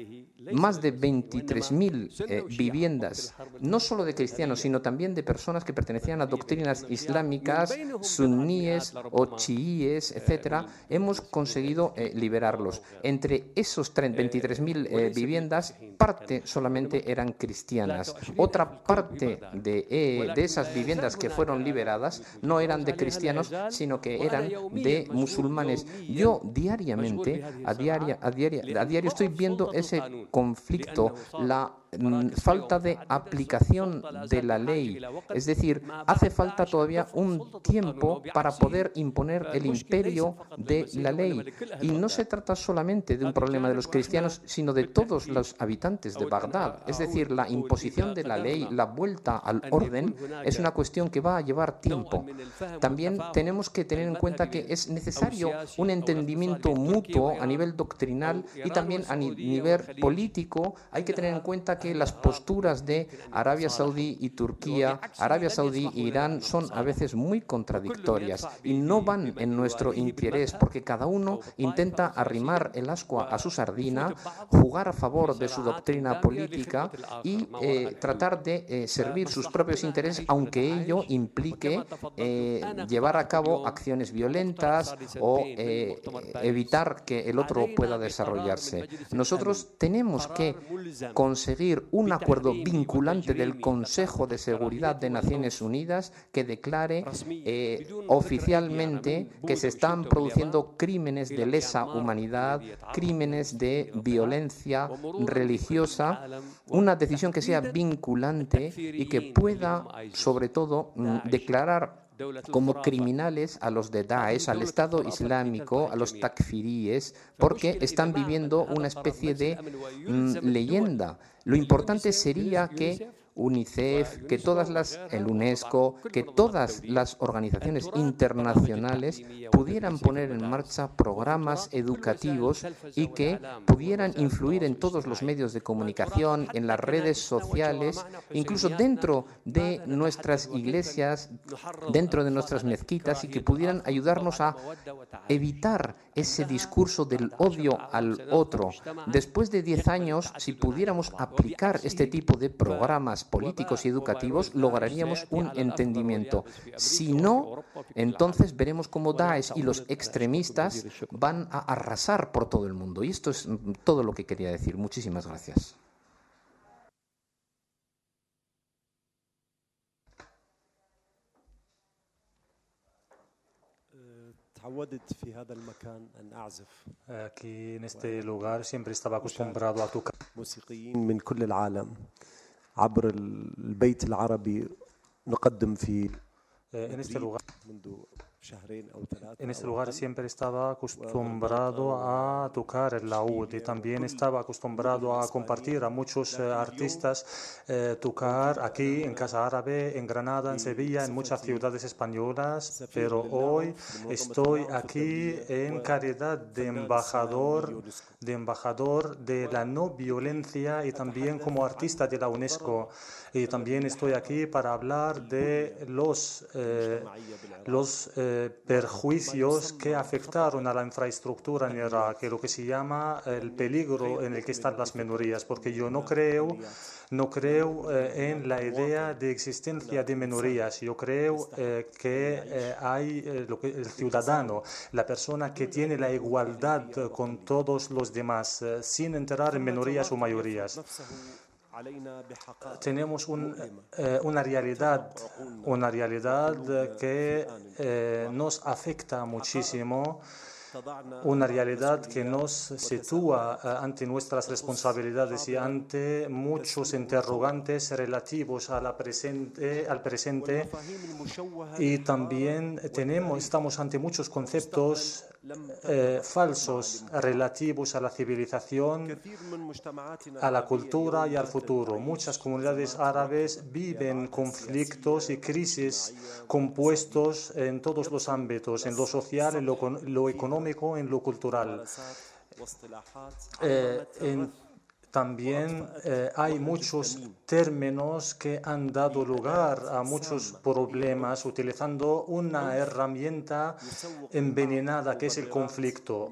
más de veintitrés mil eh, viviendas, no solo de cristianos, sino también de personas que pertenecían a doctrinas islámicas, suníes o chiíes, etcétera. Hemos conseguido eh, liberarlos. Entre esos veintitrés mil eh, viviendas, parte solamente eran cristianas. Otra parte de, eh, de esas viviendas que fueron liberadas no eran de cristianos, sino que eran de musulmanes. Yo diariamente, a diario, a diario, a diario estoy viendo ese conflicto, la falta de aplicación de la ley. Es decir, hace falta todavía un tiempo para poder imponer el imperio de la ley. Y no se trata solamente de un problema de los cristianos, sino de todos los habitantes de Bagdad. Es decir, la imposición de la ley, la vuelta al orden, es una cuestión que va a llevar tiempo. También tenemos que tener en cuenta que es necesario un entendimiento mutuo a nivel doctrinal y también a nivel político. Hay que tener en cuenta que las posturas de Arabia Saudí y Turquía, Arabia Saudí e Irán son a veces muy contradictorias y no van en nuestro interés, porque cada uno intenta arrimar el ascua a su sardina, jugar a favor de su doctrina política y eh, tratar de eh, servir sus propios intereses, aunque ello implique eh, llevar a cabo acciones violentas o eh, evitar que el otro pueda desarrollarse. Nosotros tenemos que conseguir un acuerdo vinculante del Consejo de Seguridad de Naciones Unidas que declare eh, oficialmente que se están produciendo crímenes de lesa humanidad, crímenes de violencia religiosa, una decisión que sea vinculante y que pueda, sobre todo, declarar como criminales a los de Daesh, al Estado Islámico, a los takfiríes, porque están viviendo una especie de mm, leyenda. Lo importante sería que UNICEF, que todas las, el UNESCO, que todas las organizaciones internacionales pudieran poner en marcha programas educativos y que pudieran influir en todos los medios de comunicación, en las redes sociales, incluso dentro de nuestras iglesias, dentro de nuestras mezquitas, y que pudieran ayudarnos a evitar ese discurso del odio al otro. Después de diez años, si pudiéramos aplicar este tipo de programas políticos y educativos, lograríamos un entendimiento. Si no, entonces veremos cómo Daesh y los extremistas van a arrasar por todo el mundo. Y esto es todo lo que quería decir. Muchísimas gracias. Aquí en este lugar siempre estaba acostumbrado a tocar موسيقيين من كل العالم عبر البيت العربي نقدم في en este lugar. منذ شهرين أو ثلاثة. En este lugar siempre estaba acostumbrado a tocar el laúd y también estaba acostumbrado a compartir a muchos eh, artistas eh, tocar aquí en Casa Árabe, en Granada, en Sevilla, en muchas ciudades españolas, pero hoy estoy aquí en calidad de embajador, de embajador de la no violencia y también como artista de la UNESCO. Y también estoy aquí para hablar de los, eh, los eh, eh, perjuicios que afectaron a la infraestructura en Irak, lo que se llama el peligro en el que están las minorías, porque yo no creo, no creo eh, en la idea de existencia de minorías. Yo creo eh, que eh, hay eh, lo que, el ciudadano, la persona que tiene la igualdad con todos los demás, eh, sin entrar en minorías o mayorías. Tenemos un, eh, una realidad, una realidad que eh, nos afecta muchísimo, una realidad que nos sitúa eh, ante nuestras responsabilidades y ante muchos interrogantes relativos a la presente, al presente, y también tenemos, estamos ante muchos conceptos eh, falsos relativos a la civilización, a la cultura y al futuro. Muchas comunidades árabes viven conflictos y crisis compuestos en todos los ámbitos, en lo social, en lo, lo económico, en lo cultural. Eh, en, También eh, hay muchos términos que han dado lugar a muchos problemas utilizando una herramienta envenenada que es el conflicto.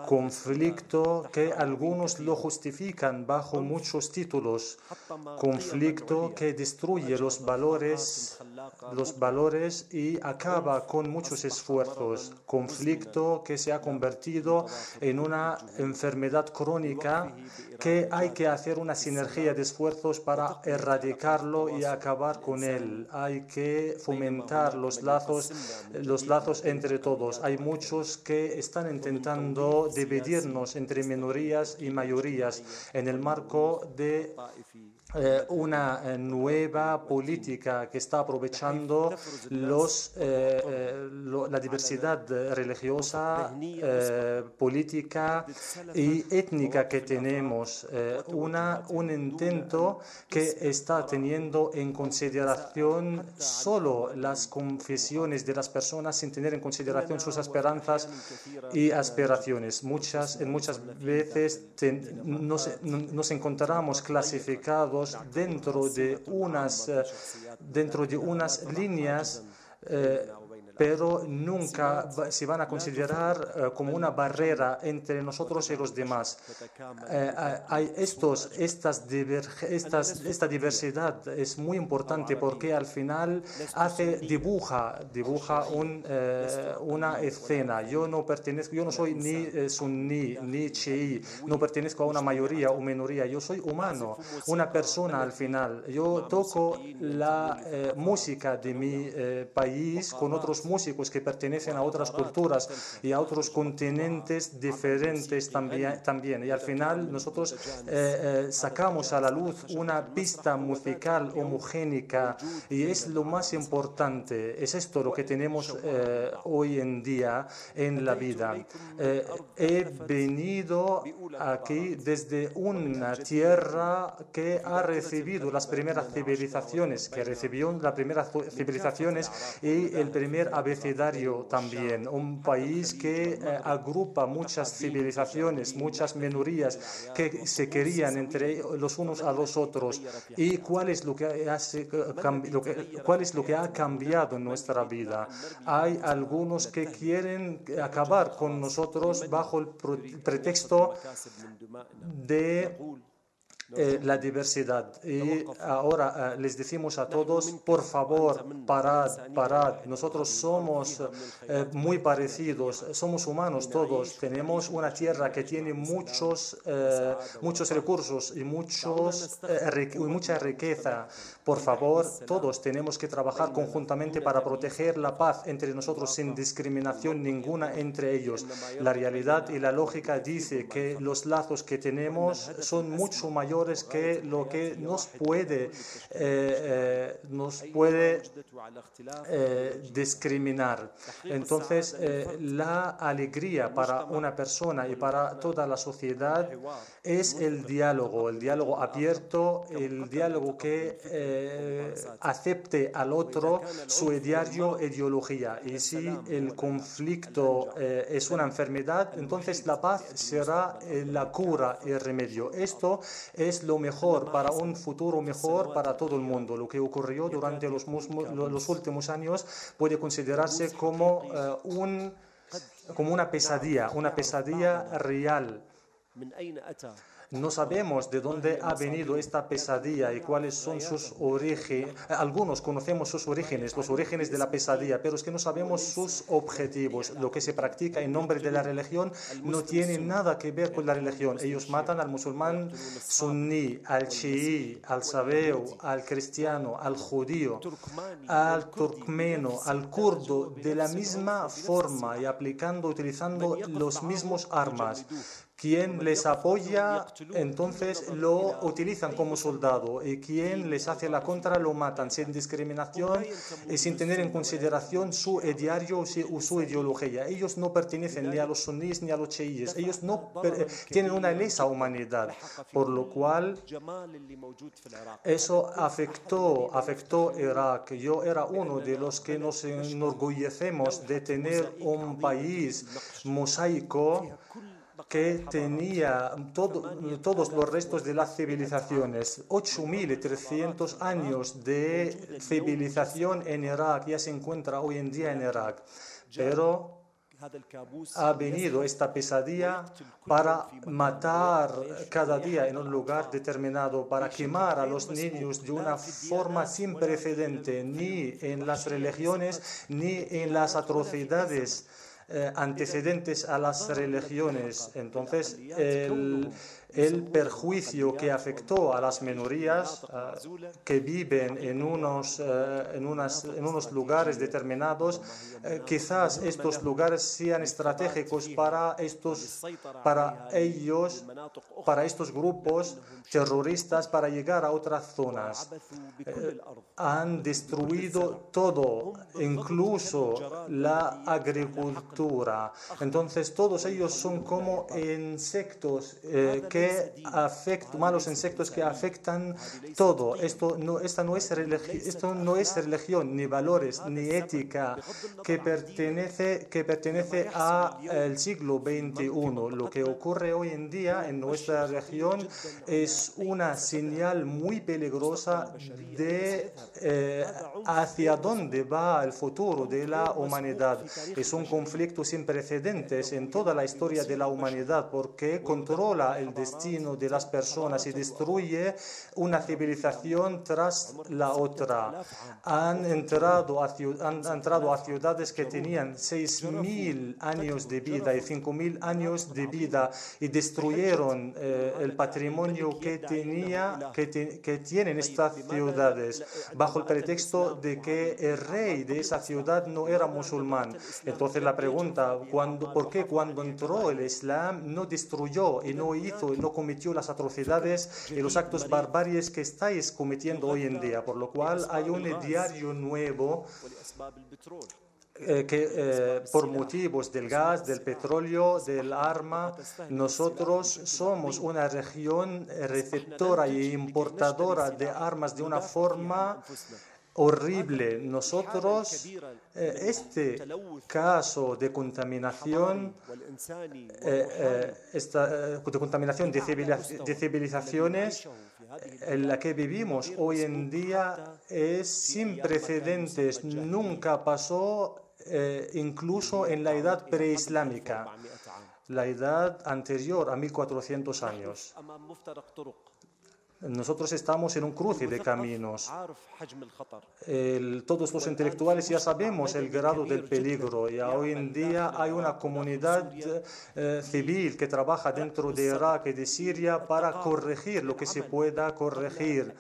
Conflicto que algunos lo justifican bajo muchos títulos. Conflicto que destruye los valores, los valores y acaba con muchos esfuerzos. Conflicto que se ha convertido en una enfermedad crónica que hay que hacer una sinergia de esfuerzos para erradicarlo y acabar con él. Hay que fomentar los lazos, los lazos entre todos. Hay muchos que están intentando dividirnos entre minorías y mayorías en el marco de Eh, una eh, nueva política que está aprovechando los, eh, eh, lo, la diversidad religiosa, eh, política y étnica que tenemos. Eh, una, un intento que está teniendo en consideración solo las confesiones de las personas sin tener en consideración sus esperanzas y aspiraciones. Muchas, en muchas veces ten, nos, nos encontramos clasificados dentro de unas, dentro de unas líneas, eh, pero nunca se van a considerar eh, como una barrera entre nosotros y los demás. Eh, hay estos, estas estas, esta diversidad es muy importante porque al final hace, dibuja, dibuja un, eh, una escena. Yo no pertenezco, yo no soy ni eh, suní ni chií, no pertenezco a una mayoría o minoría. Yo soy humano, una persona al final. Yo toco la eh, música de mi eh, país con otros músicos que pertenecen a otras culturas y a otros continentes diferentes también, también. Y al final nosotros eh, eh, sacamos a la luz una pista musical homogénica y es lo más importante. Es esto lo que tenemos eh, hoy en día en la vida. Eh, he venido aquí desde una tierra que ha recibido las primeras civilizaciones, que recibió las primeras civilizaciones y el primer abecedario también, un país que eh, agrupa muchas civilizaciones, muchas minorías que se querían entre los unos a los otros. ¿Y cuál es lo que, hace, lo que, cuál es lo que ha cambiado en nuestra vida? Hay algunos que quieren acabar con nosotros bajo el pretexto de Eh, la diversidad. Y ahora eh, les decimos a todos, por favor, parad, parad. Nosotros somos eh, muy parecidos, somos humanos todos. Tenemos una tierra que tiene muchos, eh, muchos recursos y, muchos, eh, y mucha riqueza. Por favor, todos tenemos que trabajar conjuntamente para proteger la paz entre nosotros sin discriminación ninguna entre ellos. La realidad y la lógica dice que los lazos que tenemos son mucho mayores que lo que nos puede, eh, eh, nos puede eh, discriminar. Entonces, eh, la alegría para una persona y para toda la sociedad es el diálogo, el diálogo abierto, el diálogo que eh, acepte al otro su diario ideología. Y si el conflicto eh, es una enfermedad, entonces la paz será eh, la cura y el remedio. Esto es es lo mejor para un futuro mejor para todo el mundo. Lo que ocurrió durante los, los últimos años puede considerarse como, uh, un, como una pesadilla, una pesadilla real. No sabemos de dónde ha venido esta pesadilla y cuáles son sus orígenes. Algunos conocemos sus orígenes, los orígenes de la pesadilla, pero es que no sabemos sus objetivos. Lo que se practica en nombre de la religión no tiene nada que ver con la religión. Ellos matan al musulmán suní, al chií, al sabeo, al cristiano, al judío, al turcmeno, al kurdo, de la misma forma y aplicando, utilizando los mismos armas. Quien les apoya, entonces lo utilizan como soldado, y quien les hace la contra lo matan sin discriminación y sin tener en consideración su ideario o su ideología. Ellos no pertenecen ni a los suníes ni a los chiíes. Ellos no tienen una lesa humanidad, por lo cual eso afectó, afectó Irak. Yo era uno de los que nos enorgullecemos de tener un país mosaico que tenía todo, todos los restos de las civilizaciones. ocho mil trescientos años de civilización en Irak ya se encuentra hoy en día en Irak. Pero ha venido esta pesadilla para matar cada día en un lugar determinado, para quemar a los niños de una forma sin precedente, ni en las religiones, ni en las atrocidades Eh, antecedentes a las religiones. Entonces, el, el perjuicio que afectó a las minorías uh, que viven en unos, uh, en, unas, en unos lugares determinados, uh, quizás estos lugares sean estratégicos para, estos, para ellos, para estos grupos terroristas, para llegar a otras zonas. Uh, han destruido todo, incluso la agricultura. Entonces todos ellos son como insectos eh, que afectan, malos insectos que afectan todo. Esto no, esta no es esto no es religión, ni valores, ni ética que pertenece, que pertenece al siglo veintiuno. Lo que ocurre hoy en día en nuestra región es una señal muy peligrosa de eh, hacia dónde va el futuro de la humanidad. Es un conflicto sin precedentes en toda la historia de la humanidad, porque controla el destino de las personas y destruye una civilización tras la otra. Han entrado a, han entrado a ciudades que tenían seis mil años de vida y cinco mil años de vida y destruyeron eh, el patrimonio que, tenía, que, te, que tienen estas ciudades bajo el pretexto de que el rey de esa ciudad no era musulmán. Entonces la pregunta, Cuando, ¿por qué cuando entró el Islam no destruyó y no hizo y no cometió las atrocidades y los actos barbaries que estáis cometiendo hoy en día? Por lo cual hay un diario nuevo eh, que eh, por motivos del gas, del petróleo, del arma, nosotros somos una región receptora e importadora de armas de una forma horrible. Nosotros, eh, este caso de contaminación, eh, eh, esta, eh, de contaminación de, civiliz de civilizaciones en la que vivimos hoy en día es sin precedentes. Nunca pasó, eh, incluso en la edad preislámica, la edad anterior a mil cuatrocientos años. Nosotros estamos en un cruce de caminos. El, todos los intelectuales ya sabemos el grado del peligro y hoy en día hay una comunidad eh, civil que trabaja dentro de Irak y de Siria para corregir lo que se pueda corregir.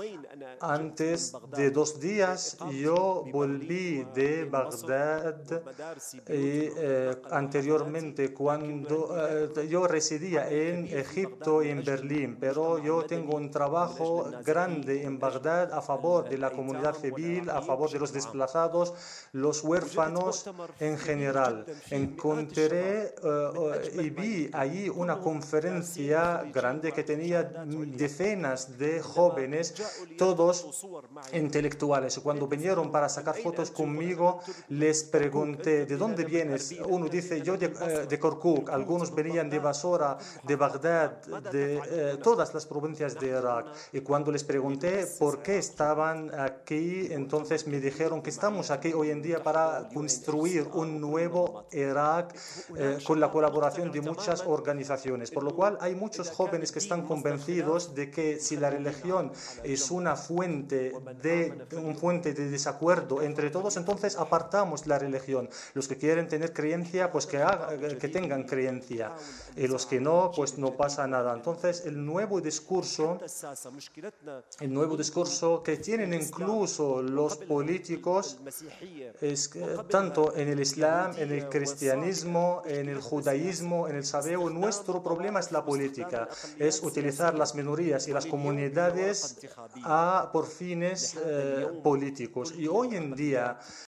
Antes de dos días yo volví de Bagdad y eh, anteriormente cuando eh, yo residía en Egipto y en Berlín, pero yo tengo un un trabajo grande en Bagdad a favor de la comunidad civil, a favor de los desplazados, los huérfanos en general. Encontré uh, y vi allí una conferencia grande que tenía decenas de jóvenes, todos intelectuales. Cuando vinieron para sacar fotos conmigo, les pregunté, ¿de dónde vienes? Uno dice, yo de, uh, de Kirkuk. Algunos venían de Basora, de Bagdad, de uh, todas las provincias de Irak. Y cuando les pregunté por qué estaban aquí, entonces me dijeron que estamos aquí hoy en día para construir un nuevo Irak eh, con la colaboración de muchas organizaciones. Por lo cual hay muchos jóvenes que están convencidos de que si la religión es una fuente de, un fuente de desacuerdo entre todos, entonces apartamos la religión. Los que quieren tener creencia, pues que, haga, que tengan creencia. Y los que no, pues no pasa nada. Entonces el nuevo discurso, el nuevo discurso que tienen incluso los políticos, es que, tanto en el Islam, en el cristianismo, en el judaísmo, en el sabeo, nuestro problema es la política, es utilizar las minorías y las comunidades a, por fines eh, políticos. Y hoy en día